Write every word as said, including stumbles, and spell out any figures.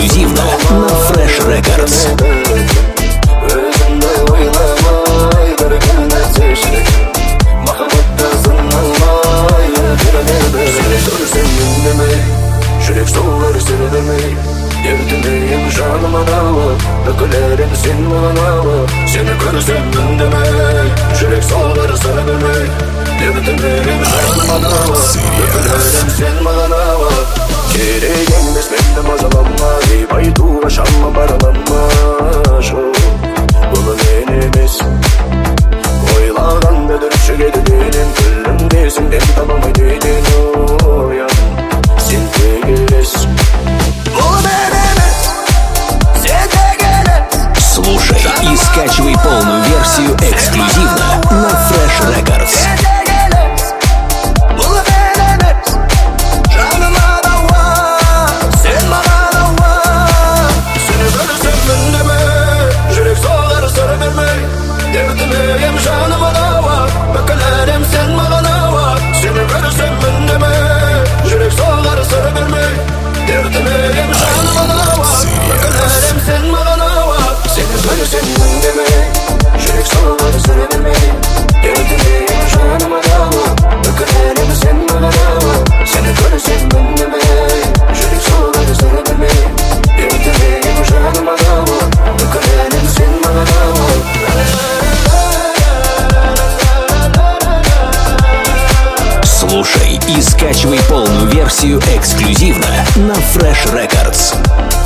эксклюзивно на Fresh Records. Жүрек солар сені ертелейін жаныма дауы бүкілерін сен маған ауы сені көрсем үндемей жүрек солар сені ертелейін жаныма дауы бүкілерін сен маған ауы керек емес мені мазалама деп айтуға шама баралама бұл мен емес ойлағанда дүршігеді денен күлімде сенден табамай денен оян сен тегелес. Слушай и скачивай полную версию эксклюзивно на Fresh Records. Слушай и скачивай полную версию эксклюзивно на Fresh Records.